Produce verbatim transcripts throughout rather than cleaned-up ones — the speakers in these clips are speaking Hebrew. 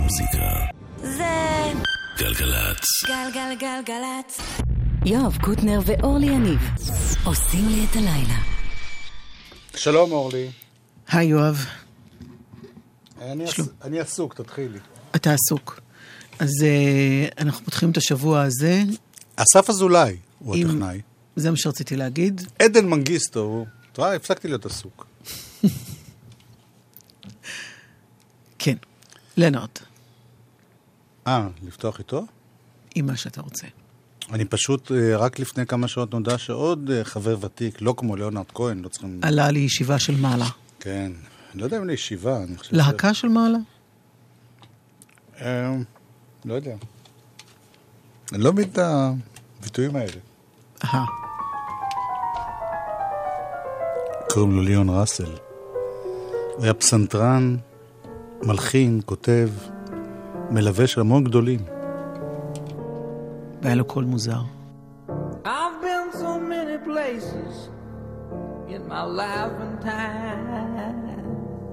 המוזיקה זה גלגלצ. גלגלגלגלצ. יואב קוטנר ואורלי יניב עושים לי את הלילה. שלום אורלי. היי יואב. אני, עס... אני עסוק, תתחילי. אתה עסוק. אז uh, אנחנו פותחים את השבוע הזה. אסף אזולאי הוא עם... הטכנאי. זה מה שרציתי להגיד. עדן מנגיסטו, הוא... תראה, הפסקתי להיות עסוק. כן, לנרד. אה, לפתוח איתו? עם מה שאתה רוצה. אני פשוט, רק לפני כמה שעות נודע שעוד חבר ותיק, לא כמו ליאונרד כהן, לא צריכים... עלה לישיבה של מעלה. כן, אני לא יודע אם לישיבה, אני חושב... להקה של מעלה? אה, לא יודע. אני לא מבין את הביטויים האלה. אה. קוראים לו ליאון ראסל. הוא היה פסנתרן, מלחין, כותב, מלווה של המון גדולים. והיה לו קול מוזר. I've been so many places in my life and time.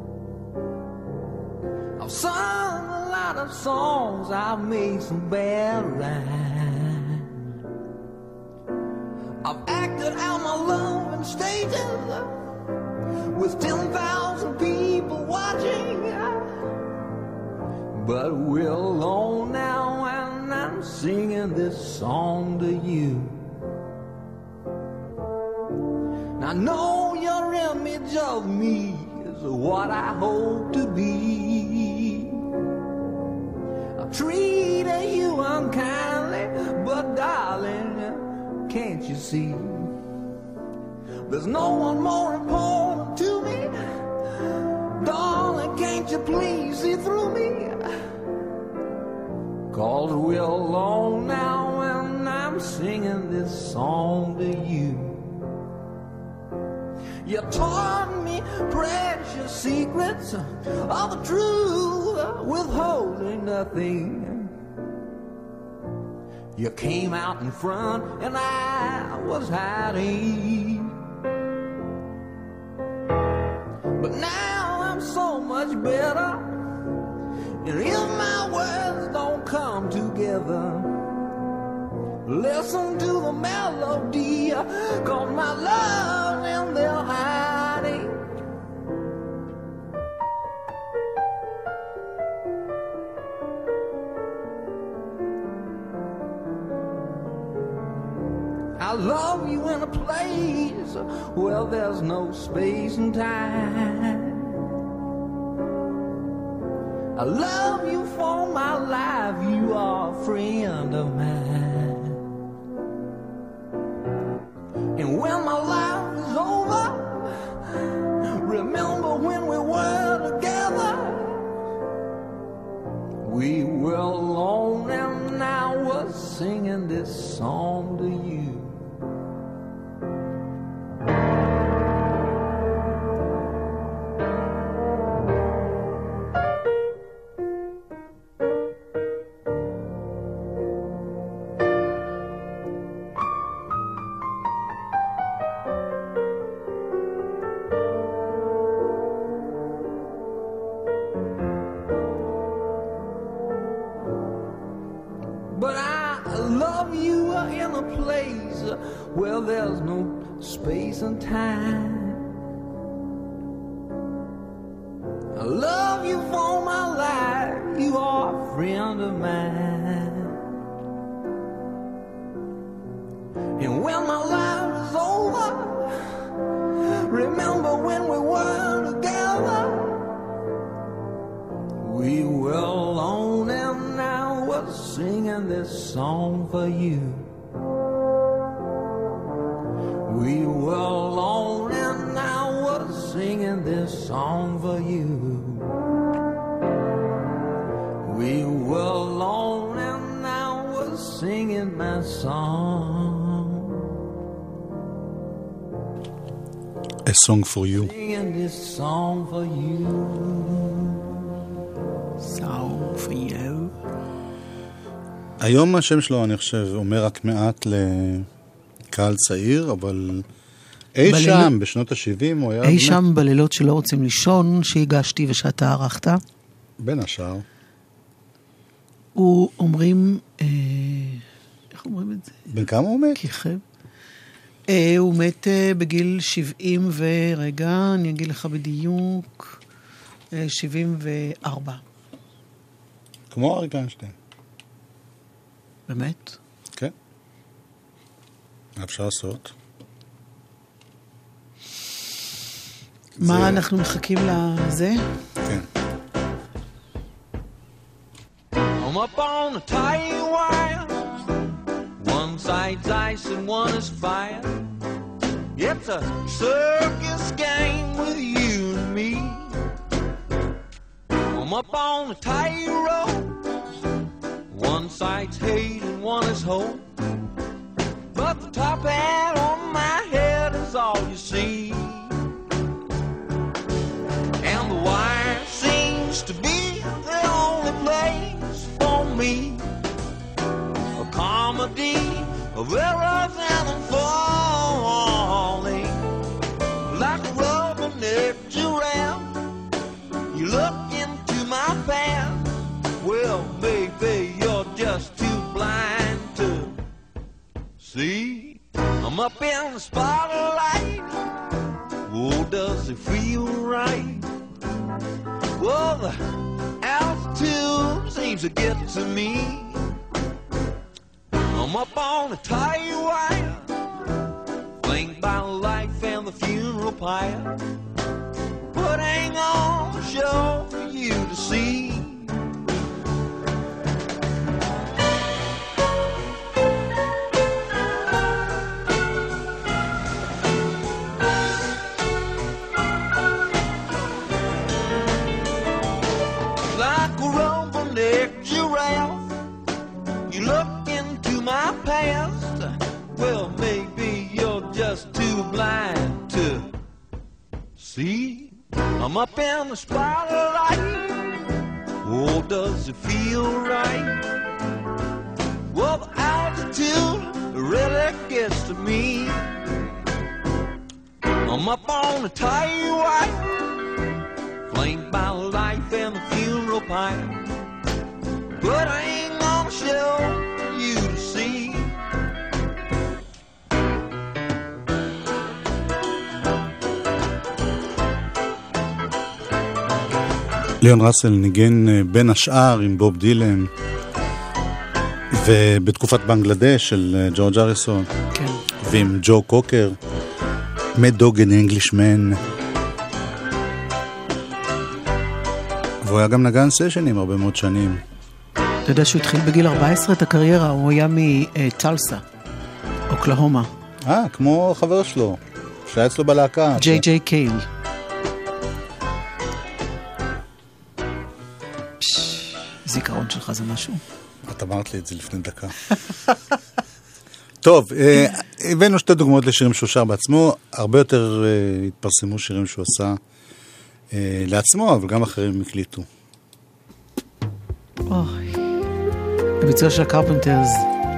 I've sung a lot of songs, I've made some bad rhymes. I've acted out my love in stages with ten thousand people watching. But we're alone now and I'm singing this song to you. I know your image of me is what I hope to be. I've treated you unkindly, but darling, can't you see? There's no one more important to me. Darling, can't you please see through me? 'Cause we're alone now and I'm singing this song to you. You taught me precious secrets of the truth, withholding nothing. You came out in front and I was hiding. But now I'm so much better. And if my words don't come together, listen to the melody, 'cause my love's in their hiding. I love you in a place where there's no space and time. I love you for my life, you are a friend of mine. And when my life is over, remember when we were together. We were alone and I was singing this song to you. Well, there's no space and time. I love you for my life, you are a friend of mine. And when my life is over, remember when we were together. We were alone and I was singing this song for you. We were alone and I was singing this song for you. We were alone and I was singing my song. A song for you. Singing this song for you. Song for you. היום השם שלו, אני חושב, אומר רק מעט ל... קהל צעיר, אבל אי בליל... שם, בשנות ה-שבעים, הוא היה... אי באמת... שם בלילות שלא רוצים לישון, שהגשתי ושאתה ערכת? בין השאר. הוא אומרים, אה, איך אומרים את זה? בן כמה הוא מת? כיכב. אה, הוא מת אה, בגיל שבעים ורגע, אני אגיד לך בדיוק, אה, שבעים וארבע. כמו אריק איינשטיין. באמת? כן. מה אפשר לעשות? מה זה... אנחנו מחכים לזה? כן. I'm up on the tight wire. One side's ice and one is fire. It's a circus game with you and me. I'm up on the tight rope. One side's hate and one is hope. But the top hat on my head is all you see. And the wire seems to be the only place for me. A comedy of errors and of falling. Like a rubber-necked giraffe, you look into my past. Well, baby, you're just too blind to see. I'm up in the spotlight. Oh, does it feel right? Well, the altitude seems to get to me. I'm up on a tight wire, flanked by life and the funeral pyre, putting on a show for you to see. Like a rubber-necked giraffe, you look into my past. Well, maybe you're just too blind to see. I'm up in the spotlight. Oh, does it feel right? Well, the altitude really gets to me. I'm up on the tight wire, flanked by life and the funeral pyre, but I ain't gonna show you to see. ליאון ראסל ניגן בין השאר עם בוב דילן, ובתקופת בנגלדש של ג'ורג' אריסון, כן. ועם ג'ו קוקר, Mad Dog and Englishman. והוא היה גם נגן סשנים הרבה מאוד שנים. אתה יודע שהוא התחיל בגיל ארבע עשרה את הקריירה, הוא היה מטלסה, אוקלהומה. אה, כמו חבר שלו, שהיה אצלו בלהקה. ג'יי ג'יי קייל. זיכרון שלך זה משהו? את אמרת לי את זה לפני דקה. טוב, הבאנו שתי דוגמאות לשירים שהוא שר בעצמו, הרבה יותר התפרסמו שירים שהוא עשה לעצמו, אבל גם אחרים הקליטו. אוי, הביצוע של הקרפנטרס,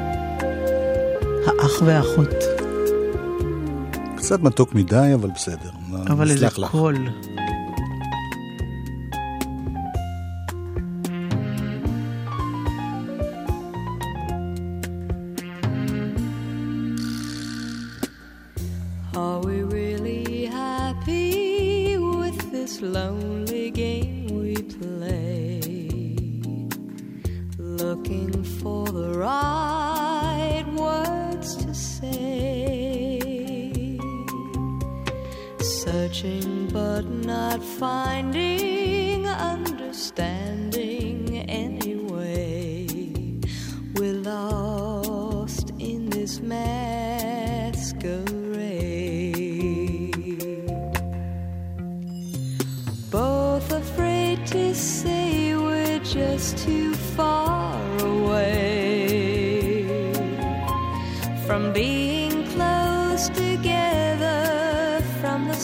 האח והאחות. קצת מתוק מדי, אבל בסדר. אבל איזה קול. Are we really happy with this lonely game we play? Looking for the right words to say, searching but not finding understanding anyway. We're lost in this masquerade, both afraid to say we're just too far away from being close together from the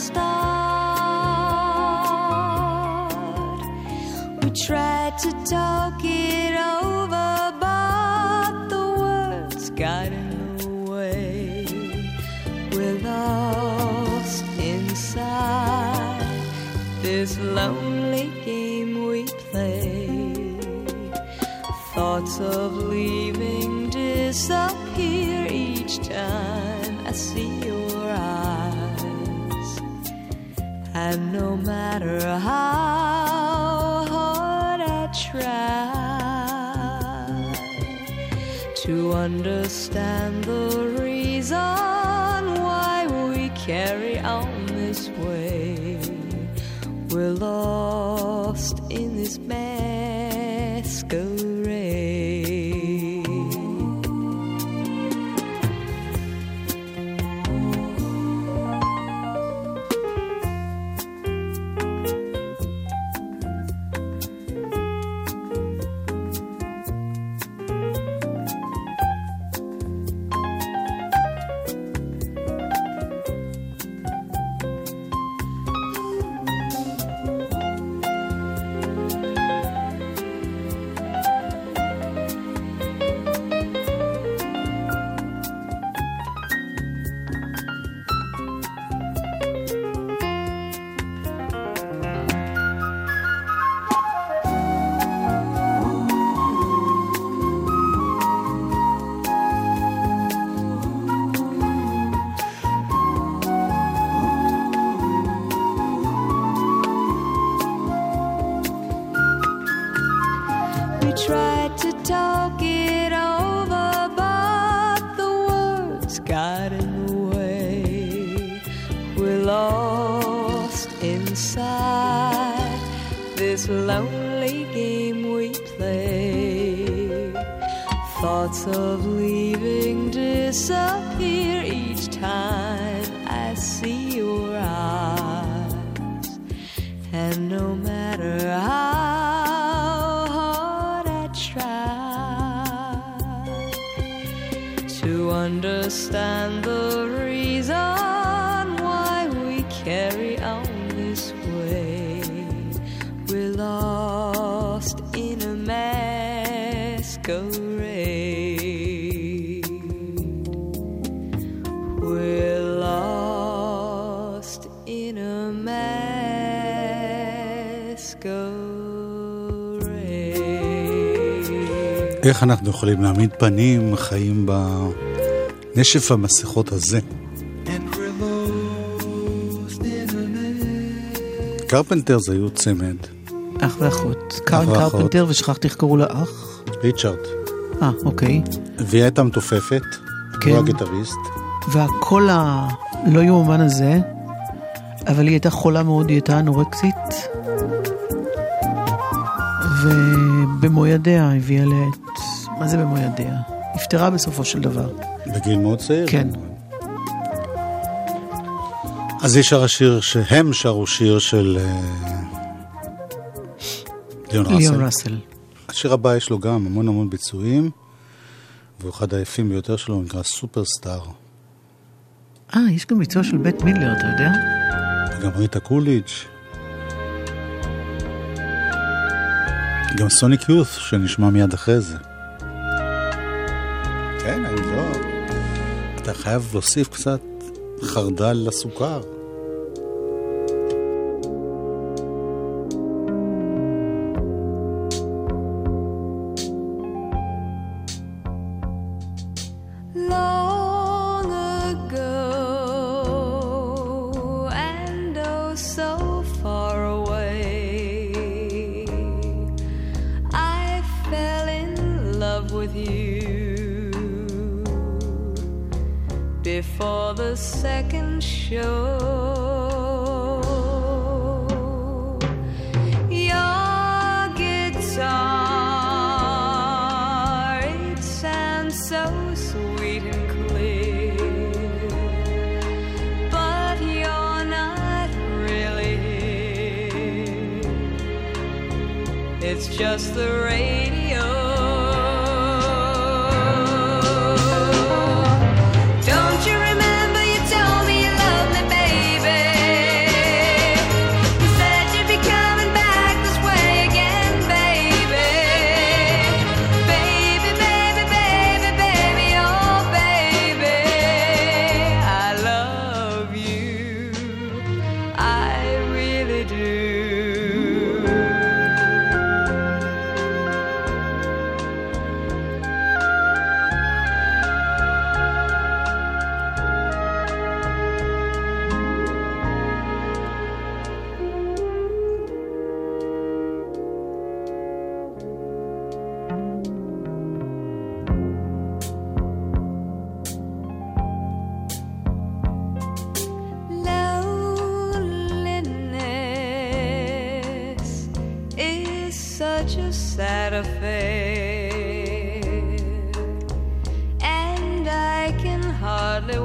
start. We tried to talk it over, but the words got in the way. We're lost inside this lonely game we play. Thoughts of leaving disappear each time I see your eyes. And no matter how hard I try to understand the reason why we carry on this way, we're lost in this masquerade. Tried to talk it over, but the words got in the way. We're lost inside this lonely game we play. Thoughts of leaving disappear each time I see your eyes. And no matter how to understand the reason why we carry on this way, we're lost in a masquerade. We're lost in a masquerade. איך אנחנו יכולים להעמיד פנים חיים בנשף המסכות הזה? קרפנטרס היו צמד. אח ואחות. קארן קרפנטר, ושכחתי איך קראו לה אח? ריצ'רד. אה, אוקיי. והיא הייתה מתופפת, כן. הוא הגיטריסט. והקול הלא יאומן הזה, אבל היא הייתה חולה מאוד, היא הייתה אנורקסית. ובמו ידיה הביאה לעת, מה זה במו ידיה? נפטרה בסופו של דבר. בגיל מאוד צעיר? כן. אז יש שר השיר שהם שרו שיר של ליאון ראסל. ליאון ראסל. השיר הבא יש לו גם המון המון ביצועים, והוא אחד היפים ביותר שלו, נקרא סופרסטאר. אה, יש גם ביצוע של בית מידלר, אתה יודע? גם ריטה קוליג'. גם סוניק יות' שנשמע מיד אחרי זה. כן, אני לא... אתה חייב להוסיף קצת חרדל לסוכר. Before the second show, your guitar, it sounds so sweet and clear, but you're not really here. It's just the radio. such a sad affair, and I can hardly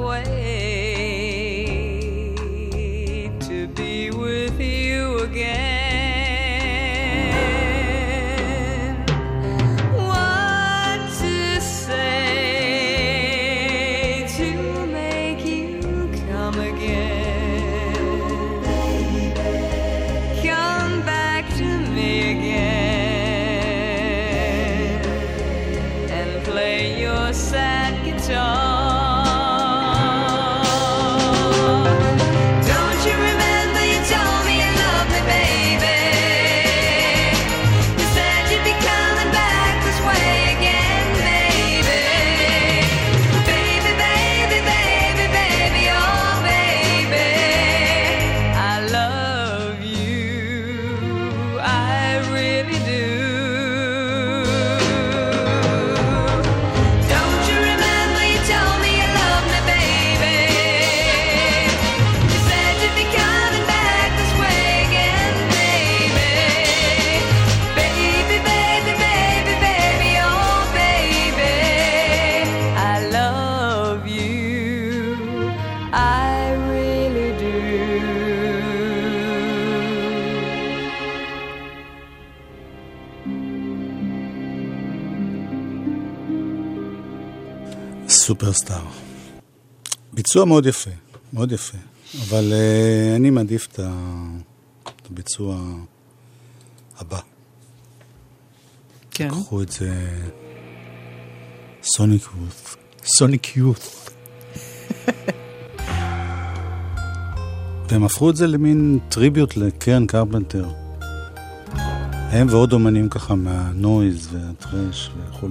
wait to be with you again. סופרסטאר. ביצוע מאוד יפה, מאוד יפה. אבל uh, אני מעדיף את הביצוע הבא. כן. קחו את זה סוניק יות'. סוניק יות'. והם הפכו את זה למין טריביוט לקרן קרפנטר. הם ועוד אומנים ככה מהנויז והטרש וכו'.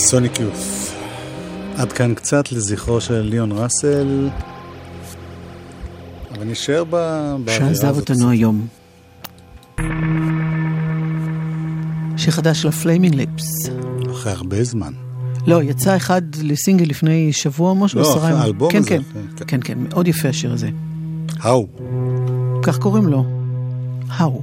סוניק יוף. עד כאן קצת לזכרו של ליאון ראסל, אבל נשאר באווירה הזאת. שעזב אותנו היום. שיר חדש של הפליימינג ליפס. אחרי הרבה זמן. לא, יצא אחד לסינגל לפני שבוע משהו. לא, אחרי האלבום כן, הזה. כן, כן, כן, מאוד יפה השיר הזה. האו. כך קוראים לו. האו.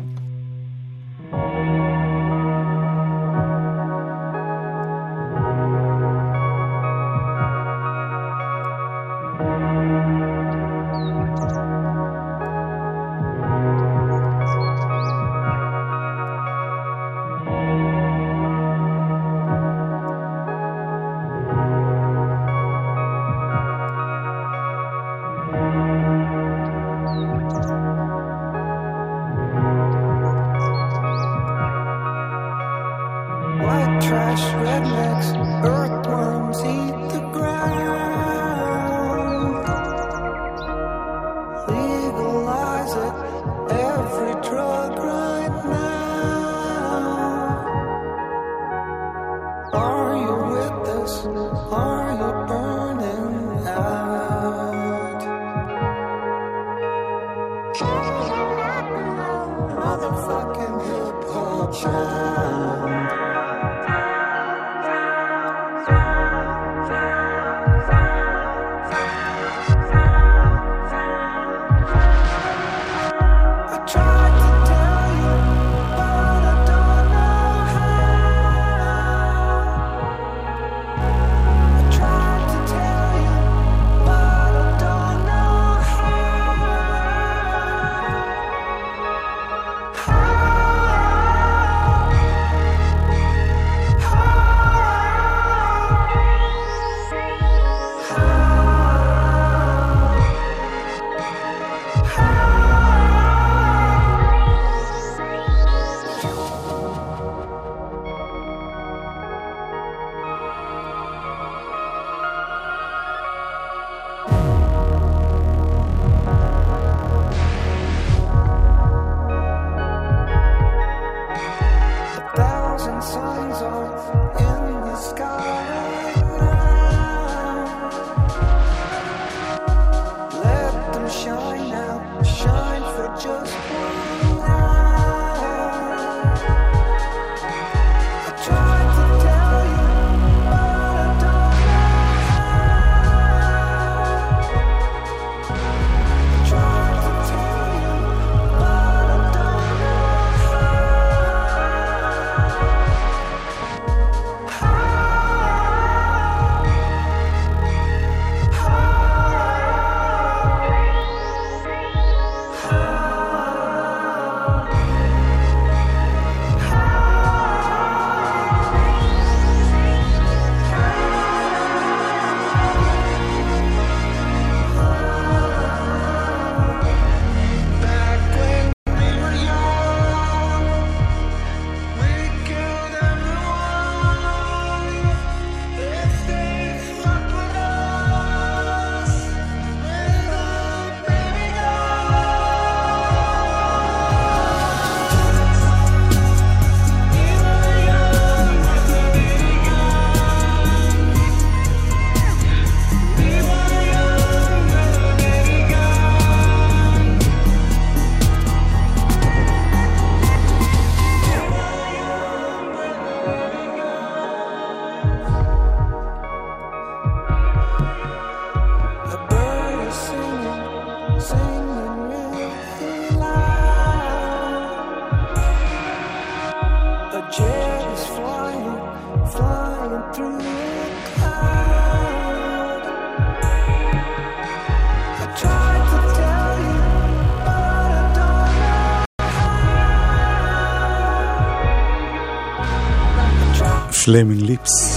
פליימינג ליפס.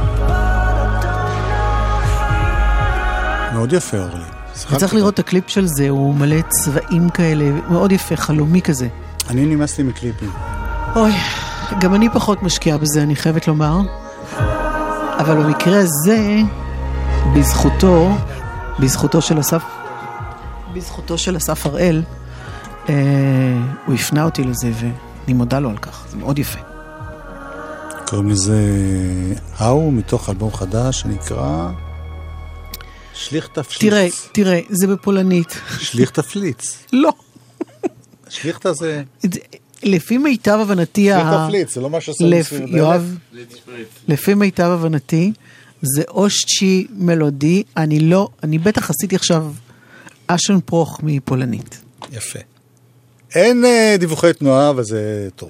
מאוד יפה, אורלי. צריך לראות את הקליפ של זה, הוא מלא צבעים כאלה, מאוד יפה, חלומי כזה. אני נמאס לי מקליפים. אוי, גם אני פחות משקיעה בזה, אני חייבת לומר. אבל במקרה הזה, בזכותו, בזכותו של אסף, בזכותו של אסף הראל, אה, הוא הפנה אותי לזה, ואני מודה לו על כך, זה מאוד יפה. קוראים לזה אהו, מתוך אלבום חדש שנקרא שליך תפליץ. תראה, תראה, זה בפולנית. שליך תפליץ. לא. שליך זה... לפי מיטב הבנתי... שליך תפליץ, זה לא מה שעושה מסביב דלת. יואב, לפי מיטב הבנתי, זה אושצ'י מלודי, אני לא, אני בטח עשיתי עכשיו אשן פרוך מפולנית. יפה. אין דיווחי תנועה, אבל זה טוב.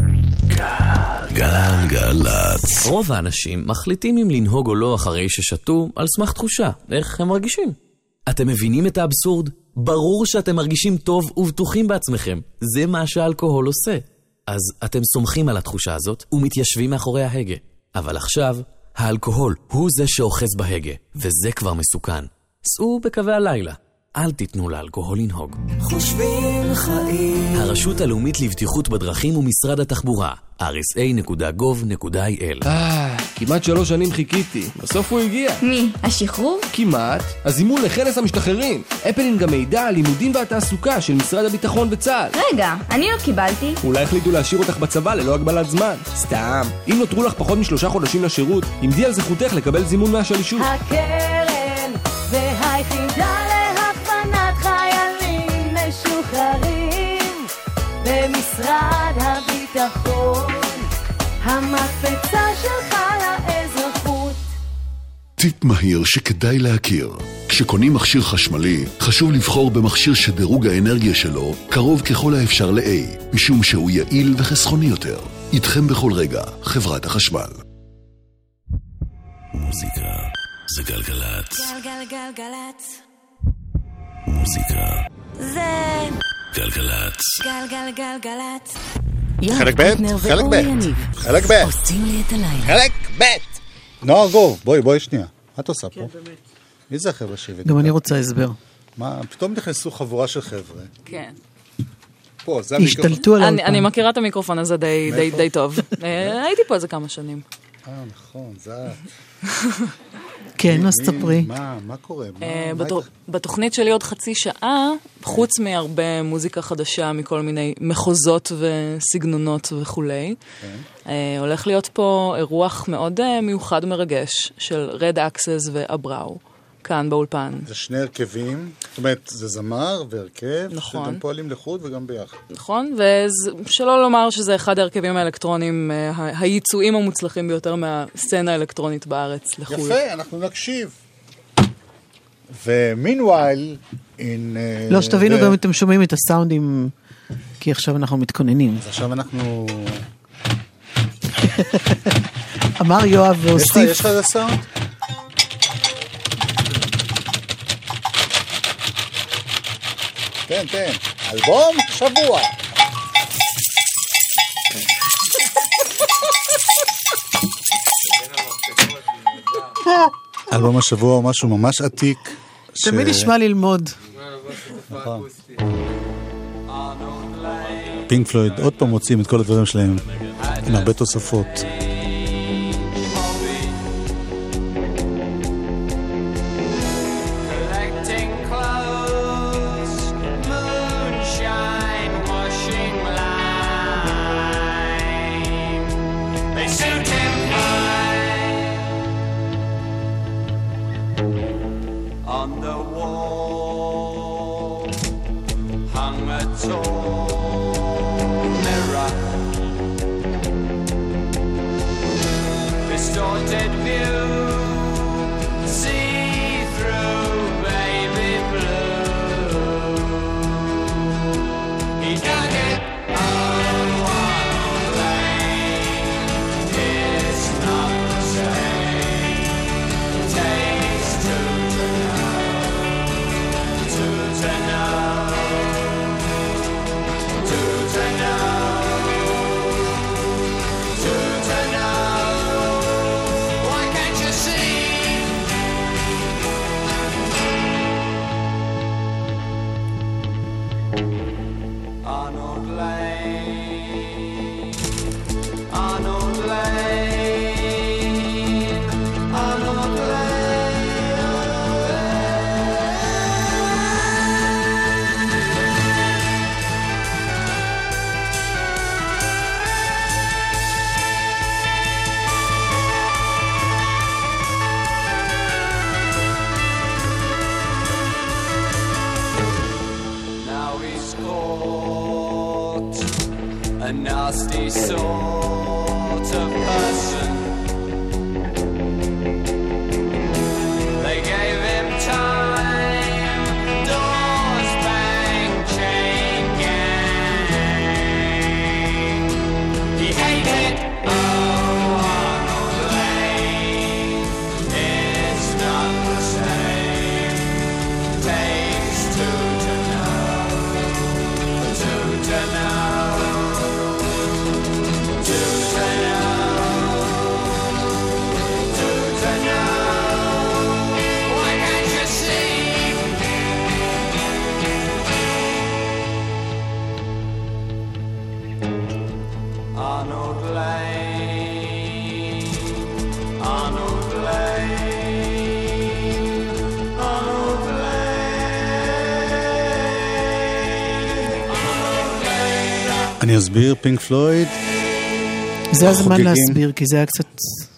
גלגלצ. רוב האנשים מחליטים אם לנהוג או לא אחרי ששתו על סמך תחושה, איך הם מרגישים. אתם מבינים את האבסורד? ברור שאתם מרגישים טוב ובטוחים בעצמכם. זה מה שהאלכוהול עושה. אז אתם סומכים על התחושה הזאת ומתיישבים מאחורי ההגה. אבל עכשיו, האלכוהול הוא זה שאוחז בהגה, וזה כבר מסוכן. סעו בקווי הלילה. אל תיתנו לאלכוהול לנהוג. חושבים חיים. הרשות הלאומית לבטיחות בדרכים ומשרד התחבורה. אר אס איי נקודה גוב נקודה איי אל. אה, כמעט שלוש שנים חיכיתי. בסוף הוא הגיע. מי? השחרור? כמעט. הזימון לכנס המשתחררים. אפלינג המידע, הלימודים והתעסוקה של משרד הביטחון וצה"ל. רגע, אני לא קיבלתי. אולי החליטו להשאיר אותך בצבא ללא הגבלת זמן. סתם. אם נותרו לך פחות משלושה חודשים לשירות, עמדי על זכותך לקבל זימון מהשלישות. הקרן והיחידה להכוונת חיילים משוחררים במשרד הביטחון, המקפצה שלך לאזרחות. טיפ מהיר שכדאי להכיר: כשקונים מכשיר חשמלי, חשוב לבחור במכשיר שדירוג האנרגיה שלו קרוב ככל האפשר ל-A, משום שהוא יעיל וחסכוני יותר. איתכם בכל רגע, חברת החשמל. מוזיקה זה גלגלצ. גלגלגלגלצ. מוזיקה זה גלגלצ. גלגלגלגלצ. חלק ב', חלק ב', חלק ב', עושים לי את הלילה. חלק ב'. נועה גו, בואי, בואי שנייה. מה את עושה פה? מי זה החבר'ה שהבאת? גם אני רוצה הסבר. מה, פתאום נכנסו חבורה של חבר'ה. כן. פה, זה המיקרופון. השתלטו על אני, אני מכירה את המיקרופון הזה די, די, די טוב. הייתי פה איזה כמה שנים. אה, נכון, זה... כן, אז תספרי. מה, מה קורה? בתוכנית שלי עוד חצי שעה, חוץ מהרבה מוזיקה חדשה מכל מיני מחוזות וסגנונות וכולי, הולך להיות פה אירוח מאוד מיוחד ומרגש של רד אקסס ואבראו, כאן באולפן. זה שני הרכבים, זאת אומרת, זה זמר והרכב, נכון. שגם פועלים לחוד וגם ביחד. נכון, ושלא לומר שזה אחד ההרכבים האלקטרונים, הייצואים המוצלחים ביותר מהסצנה האלקטרונית בארץ לחול. יפה, אנחנו נקשיב. ומינווייל, לא, שתבינו גם אם אתם שומעים את הסאונדים, כי עכשיו אנחנו מתכוננים. אז עכשיו אנחנו... אמר יואב והוסיף. יש לך איזה סאונד? תן, תן. אלבום שבוע. אלבום השבוע הוא משהו ממש עתיק. תמיד נשמע ללמוד. נכון. פינק פלויד עוד פעם מוצאים את כל הדברים שלהם עם הרבה תוספות. sort of person. They gave him time, doors bang, chain gang. He hated oh, Arnold Lane. It's not the same. Takes two to know, two to know. Arnold Lane, Arnold Lane, Arnold Lane, Arnold Lane. אני אסביר, פינק פלויד. זה הזמן להסביר, כי זה היה קצת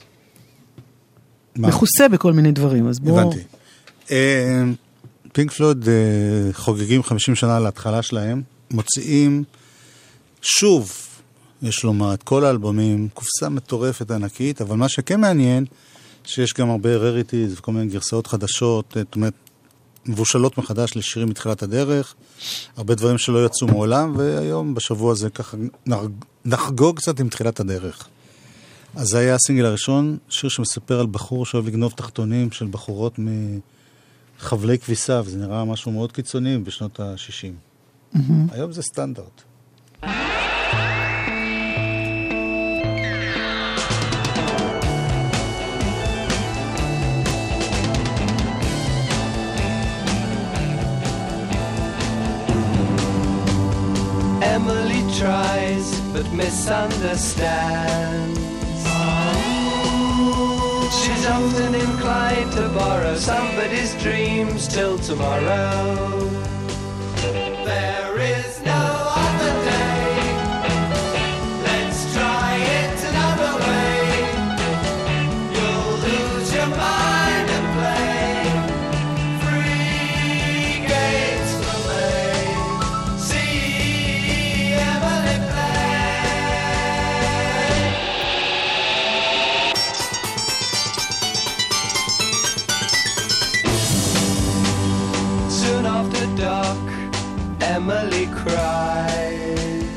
מכוסה בכל מיני דברים, אז בואו... הבנתי. פינק פלויד חוגגים חמישים שנה להתחלה שלהם, מוציאים שוב, יש לומר, את כל האלבומים, קופסה מטורפת ענקית, אבל מה שכן מעניין, שיש גם הרבה רריטיז וכל מיני גרסאות חדשות, זאת אומרת, מבושלות מחדש לשירים מתחילת הדרך, הרבה דברים שלא יצאו מעולם, והיום בשבוע הזה ככה נחגוג קצת עם תחילת הדרך. אז זה היה הסינגל הראשון, שיר שמספר על בחור שאוהב לגנוב תחתונים של בחורות מחבלי כביסה, וזה נראה משהו מאוד קיצוני בשנות ה-שישים. Mm-hmm. היום זה סטנדרט. Emily tries but misunderstands. She's often inclined to borrow somebody's dreams till tomorrow. There is no other day. Let's try it another way. You'll lose your mind and play free games for me. See Emily play. Soon after dark, Emily cries,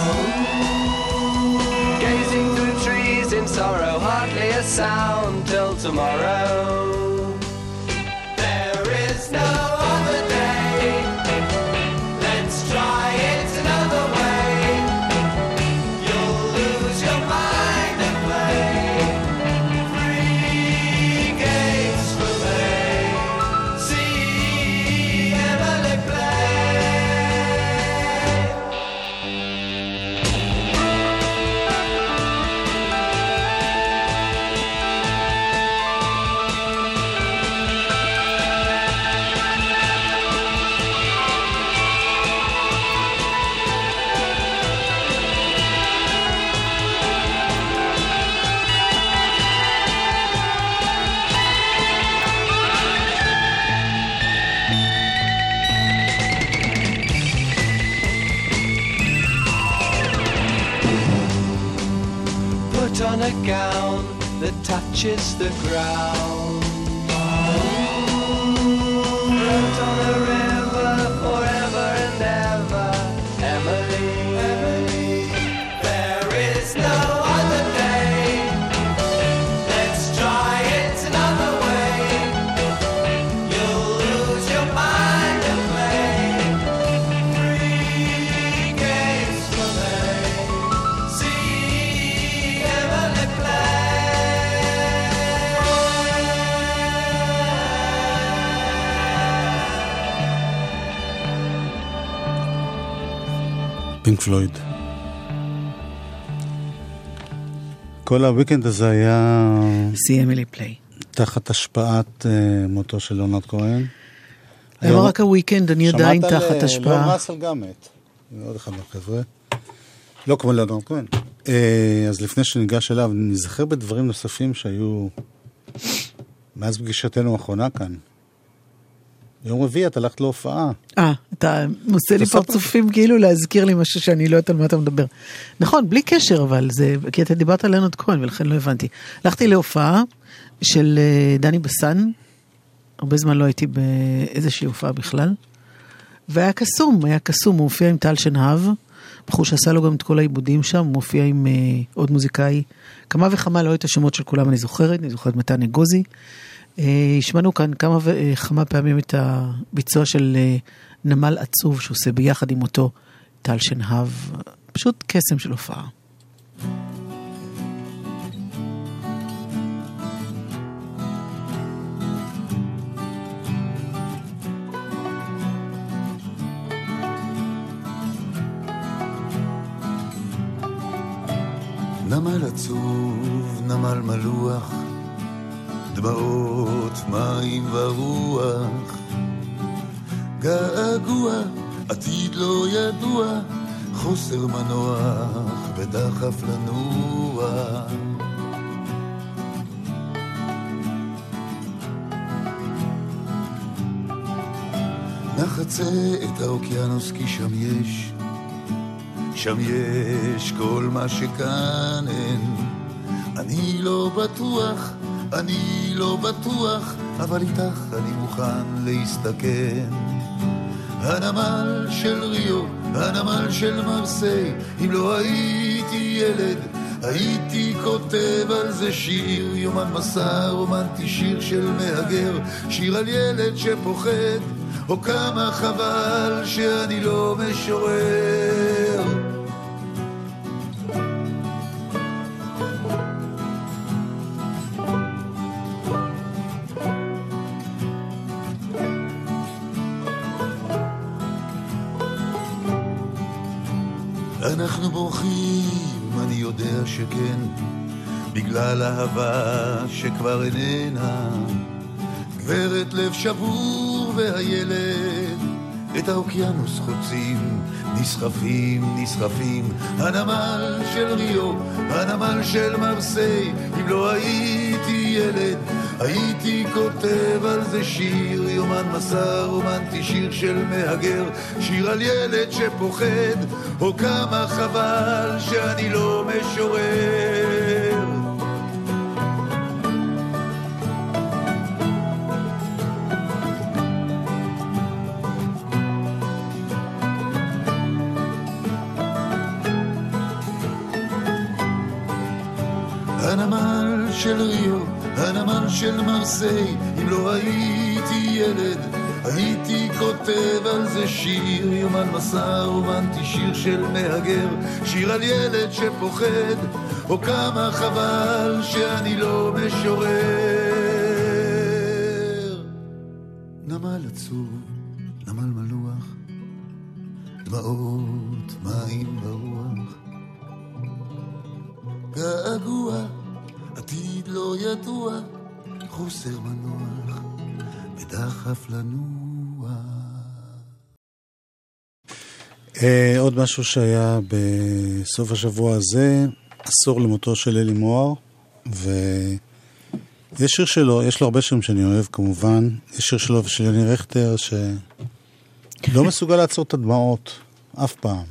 gazing through trees in sorrow, hardly a sound till tomorrow. There is no other day. Let's try it another way. You'll lose your mind and play free games for me. See Emily play. Put on a gown that touches the ground. Float on a river forever and ever. Emily, Emily, there is no other day. Let's try it another way. You'll lose your mind and play free games for me. See Emily פינק פלויד. כל הוויקנד הזה היה... See Emily play. תחת השפעת uh, מותו של ליאונרד כהן. לא רק הוויקנד, אני עדיין תחת השפעה. שמעת על ליאון ראסל גם מת. עוד אחד מהחבר'ה. לא כמו ליאונרד כהן. Uh, אז לפני שניגש אליו, נזכר בדברים נוספים שהיו מאז פגישתנו האחרונה כאן. יום רביעי את הלכת להופעה. אה, אתה עושה לי פרצופים כאילו להזכיר לי משהו שאני לא יודעת על מה אתה מדבר. נכון, בלי קשר, אבל זה, כי אתה דיברת על לנוד כהן, ולכן לא הבנתי. הלכתי להופעה של דני בסן, הרבה זמן לא הייתי באיזושהי הופעה בכלל, והיה קסום, היה קסום, הוא הופיע עם טל שנהב, בחור שעשה לו גם את כל העיבודים שם, הוא מופיע עם uh, עוד מוזיקאי, כמה וכמה, לא את השמות של כולם אני זוכרת, אני זוכרת מתן אגוזי, השמענו כאן כמה וכמה פעמים את הביצוע של נמל עצוב שעושה ביחד עם אותו טל שנהב, פשוט קסם של הופעה. נמל עצוב, נמל מלוח, דמעות, מים ורוח, געגוע, עתיד לא ידוע, חוסר מנוח ודחף לנוע. נחצה את האוקיינוס כי שם יש, שם יש כל מה שכאן אין. אני לא בטוח, אני לא בטוח, אבל איתך אני מוכן להסתכן. הנמל של ריו, הנמל של מרסיי, אם לא הייתי ילד, הייתי כותב על זה שיר. יומן מסע רומנטי, שיר של מהגר, שיר על ילד שפוחד, או כמה חבל שאני לא משורר. אנחנו בורחים, אני יודע שכן, בגלל אהבה שכבר איננה. גברת לב שבור והילד, את האוקיינוס חוצים, נסחפים, נסחפים. הנמל של ריו, הנמל של מרסיי, אם לא הייתי ילד, הייתי כותב על זה שיר. יומן מסע רומנטי, שיר של מהגר, שיר על ילד שפוחד, או כמה חבל שאני לא משורר. הנמל של ריו, הנמל של מרסיי, אם לא הייתי ילד, הייתי כותב על זה שיר. יומן מסע רומנטי, שיר של מהגר, שיר על ילד שפוחד, או כמה חבל שאני לא משורר. נמל עצוב, נמל מלוח, דמעות, מים ברוח, געגוע, עתיד לא ידוע, חוסר מנוח ודחף לנוע. אה, עוד משהו שהיה בסוף השבוע הזה, עשור למותו של אלי מוהר, ויש שיר שלו, יש לו הרבה שירים שאני אוהב כמובן, יש שיר שלו ושל יוני רכטר שלא מסוגל לעצור את הדמעות אף פעם.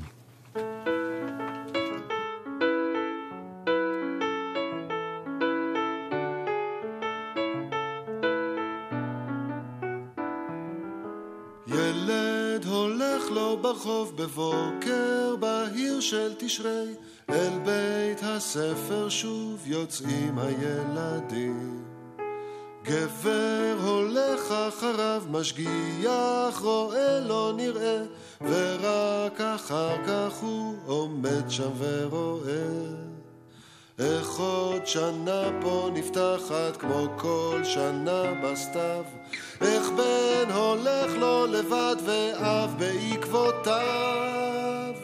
ברחוב בבוקר בהיר של תשרי, אל בית הספר שוב יוצאים הילדים. גבר הולך אחריו, משגיח רואה לא נראה, ורק אחר כך הוא עומד שם ורואה. איך עוד שנה פה נפתחת כמו כל שנה בסתיו, איך בן הולך לו לבד ואב בעקבותיו.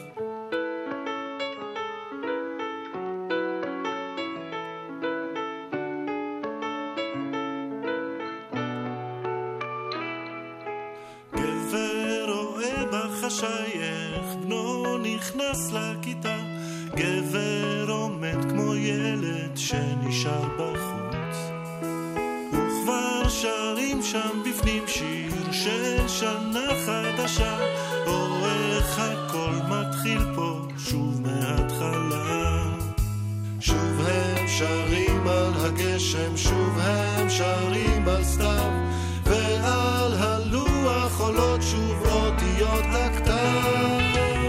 גבר רואה בחשייך, בנו נכנס לכיתה, גבר עומד כמו ילד שנשאר בחוץ, וכבר שרים שם בפנים שיר של שנה חדשה, או איך הכל מתחיל פה שוב מההתחלה. שוב הם שרים על הגשם, שוב הם שרים על סתיו, ועל הלוח עולות שוב אותיות הכתב.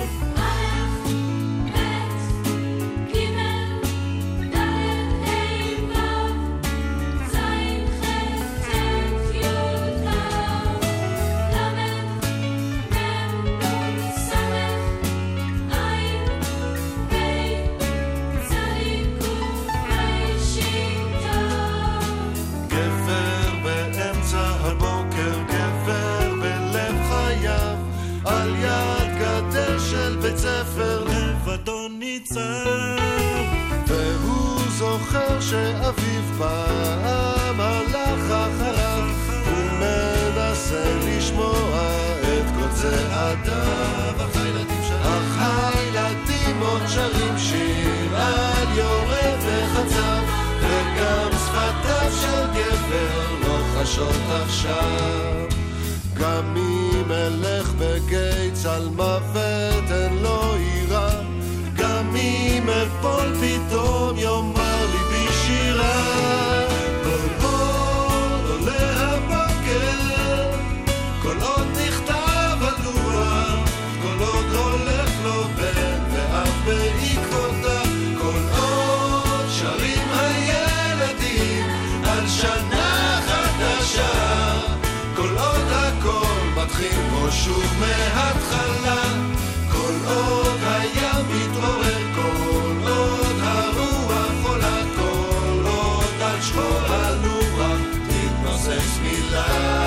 בית ספר לבדו ניצב, והוא זוכר שאביו פעם הלך אחריו, הוא מנסה לשמוע את כל צעדיו, אך הילדים עוד שרים שיר על יורה וחצב, וגם שפתיו של גבר לא חשות עכשיו. גם אם אלך בגיץ על מוות אין לו עירה, גם אם אפול פתאום יאמר לי בשירה. כל עוד עולה הבוקר, כל עוד נכתב הלוח, כל עוד הולך לו בן ואף בעקבותיו, כל עוד שרים הילדים על שנה חדשה, כל עוד הכל מתחיל פה שוב מההתחלה, כל עוד הים מתעורר, כל עוד הרוח עולה, כל עוד על שחור הלוח תתנוסס מילה.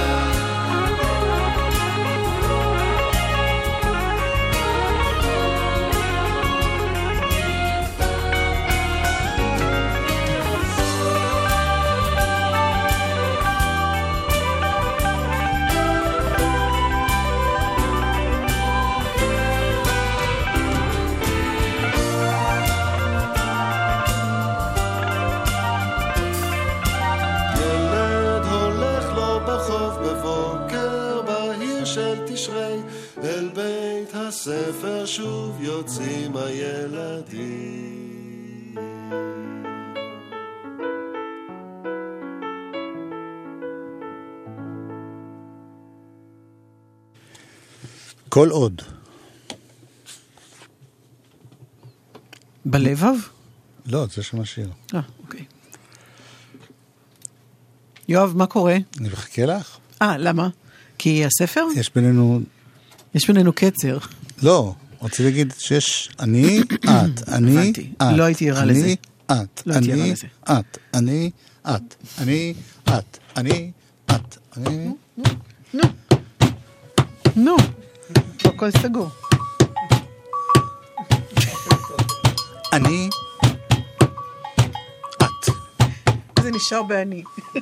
אל בית הספר שוב יוצאים הילדים. כל עוד. בלבב? לא, זה שם השיר. אה, אוקיי. יואב, מה קורה? אני מחכה לך. אה, למה? כי הספר? יש בינינו... יש בינינו קצר. לא, רוצה להגיד שיש אני, את, אני, את. לא הייתי ערה לזה. אני, את, אני, את, אני, את, אני, את, אני, את, אני... נו, נו, הכל סגור. אני, את. זה נשאר בעני.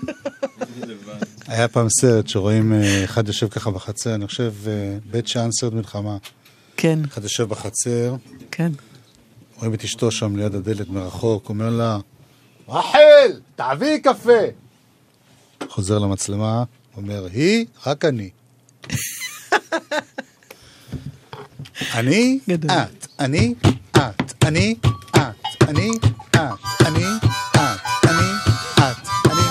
היה פעם סרט שרואים אחד יושב ככה בחצר, אני חושב בית שאן סרט מלחמה. כן. אחד יושב בחצר. כן. רואים את אשתו שם ליד הדלת מרחוק, אומר לה, רחל, תעבירי קפה. חוזר למצלמה, אומר, היא, רק אני. אני, את, אני, את, אני, את, אני, את, אני, את, אני, את, אני.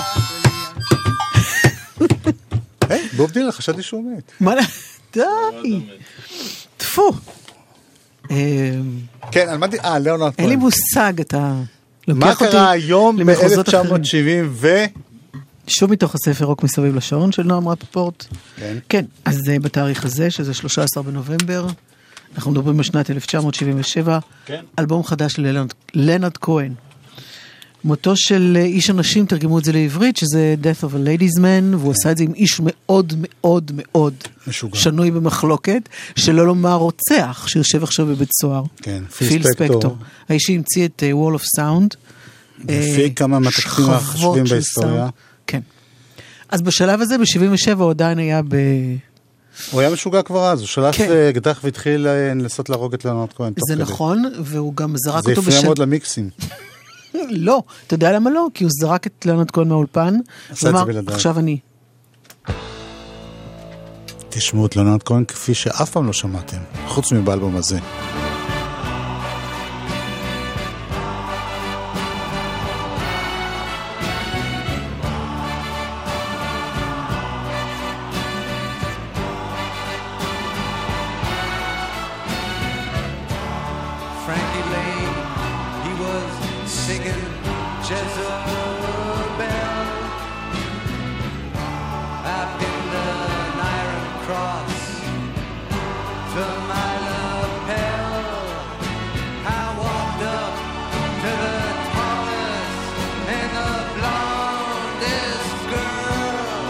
היי, בוב דילן, חשבתי שהוא מת. מה? די. תפו. כן, על מה די... אה, ליאונרד כהן. אין לי מושג, אתה מה קרה היום ב-אלף תשע מאות שבעים ו... שוב מתוך הספר רוק מסביב לשעון של נועם רפפורט. כן. כן, אז בתאריך הזה, שזה שלושה עשר בנובמבר, אנחנו מדברים בשנת אלף תשע מאות שבעים ושבע, כן. אלבום חדש של ליאונרד כהן. מותו של איש אנשים, תרגמו את זה לעברית, שזה Death of a Ladies Man, והוא עשה את זה עם איש מאוד מאוד מאוד משוגע. שנוי במחלוקת, שלא לומר רוצח, שיושב עכשיו בבית סוהר. כן, פיל ספקטור. האיש שהמציא את Wall of Sound. לפי כמה מהתקפים החשובים בהיסטוריה. כן. אז בשלב הזה, ב-שבעים ושבע, הוא עדיין היה ב... הוא היה משוגע כבר אז, הוא שלף אקדח והתחיל לנסות להרוג את ליאונרד כהן. זה נכון, והוא גם זרק אותו... זה הפריע מאוד למיקסים. לא, אתה יודע למה לא? כי הוא זרק את ליאונרד כהן מהאולפן, ואמר, עכשיו אני. תשמעו את ליאונרד כהן כפי שאף פעם לא שמעתם, חוץ מבאלבום הזה. Frankie Lane, he was singing Jezebel up in the Iron Cross to my lapel. I walked up to the tallest and the blondest girl.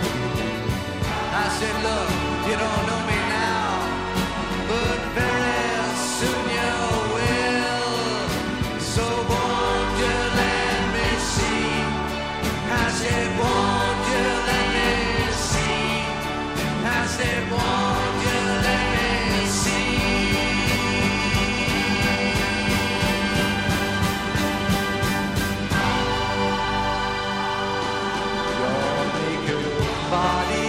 I said, look, you don't know me now, but very soon you will. So won't you let me see? I said, won't you let me see? I said, won't you let me see? Your naked body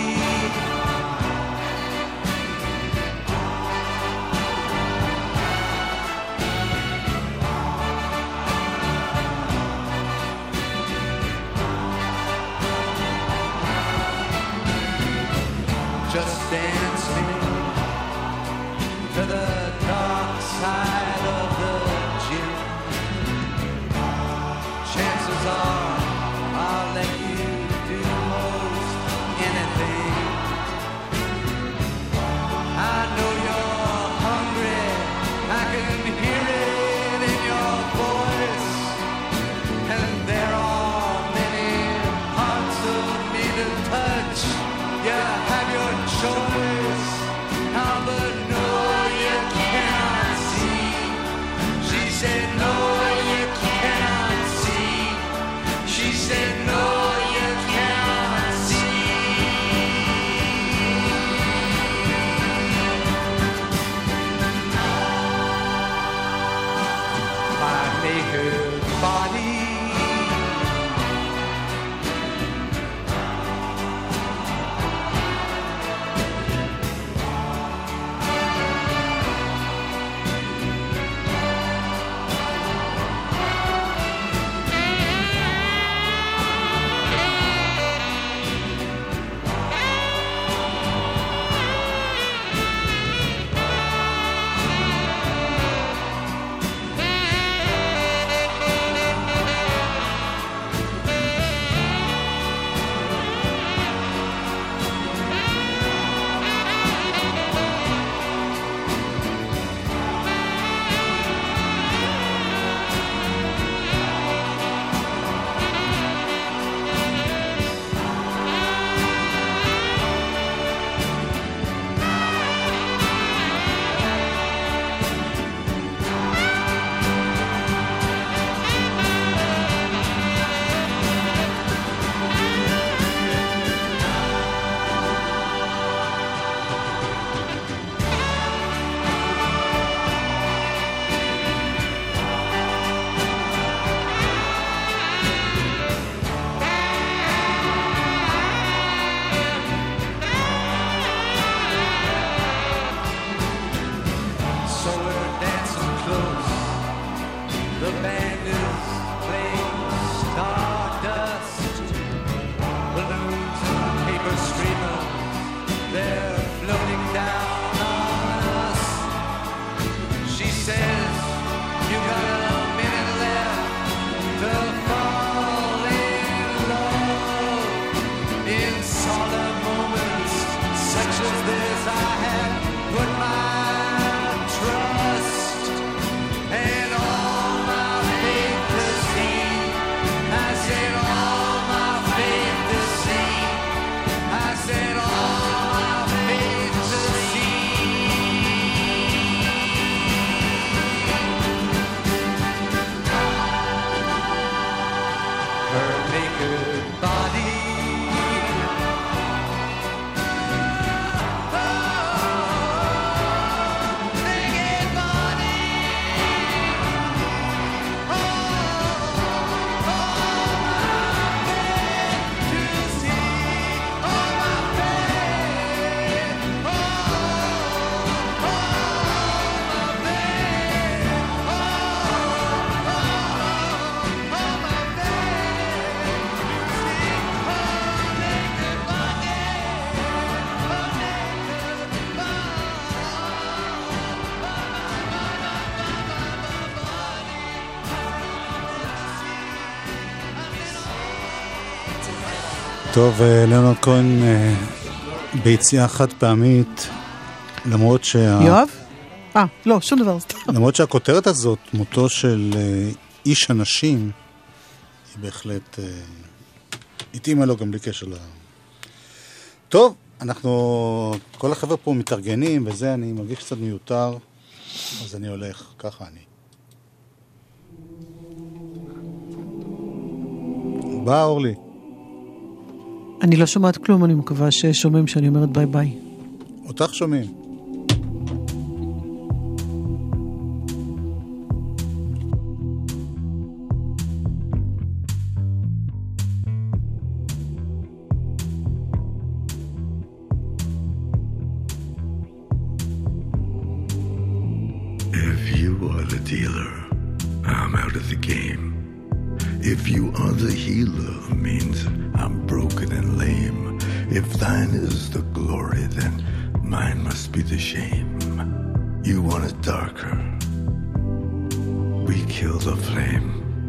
just dance me to the dark side of the gym. Chances are I'll let you do most anything. I know you're hungry, I can hear it in your voice, and there are many parts of me to touch. You have your choice, oh, but no, you cannot see. She said, no, you cannot see. She said, no, you cannot see. My naked body טוב, ליאונרד כהן ביציאה חד פעמית, למרות שה... יואב? אה, לא, שום דבר. למרות שהכותרת הזאת, מותו של איש הנשים, היא בהחלט התאימה לו גם בלי קשר לה... טוב, אנחנו, כל החבר'ה פה מתארגנים, וזה אני מרגיש קצת מיותר, אז אני הולך, ככה אני. בא, אורלי. אני לא שומעת כלום, אני מקווה ששומעים שאני אומרת ביי ביי. אותך שומעים. If you are the dealer, I'm out of the game. If you are the healer, means I'm broken and lame. If thine is the glory, then mine must be the shame. You want it darker, we kill the flame.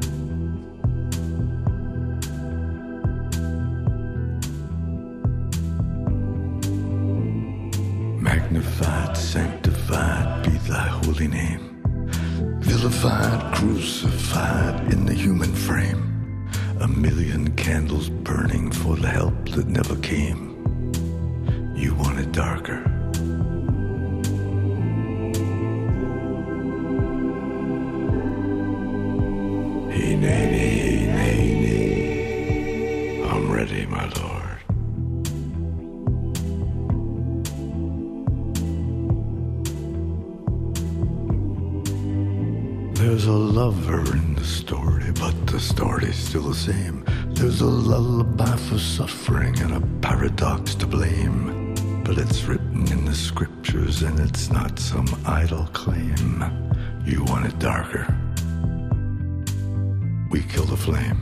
Magnified, sanctified be thy holy name. Vilified, crucified in the human frame. A million candles burning for the help that never came. You want it darker. Hey, nay, nay, nay, nay. I'm ready, my lord. There's a lover in the story, but the story's still the same. There's a lullaby for suffering and a paradox to blame. But it's written in the scriptures and it's not some idle claim. You want it darker, we kill the flame.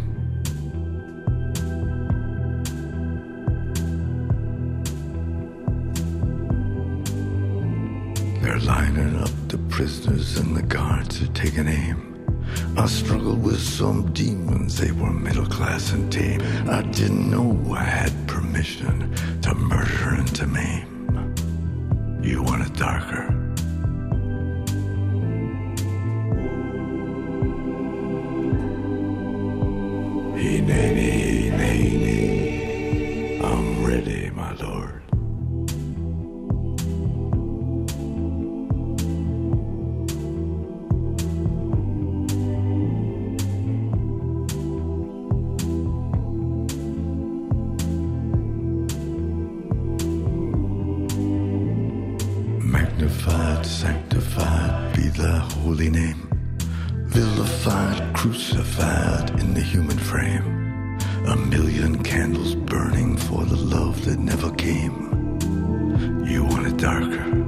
They're lining up the prisoners and the guards are taking aim. I struggled with some demons, they were middle class and tame. I didn't know I had permission to murder and to maim. You want it darker, hey, nay, nay, nay, nay. I'm ready, my lord. Magnified, sanctified be thy holy name. Vilified, crucified in the human frame. A million candles burning for the love that never came. You want it darker,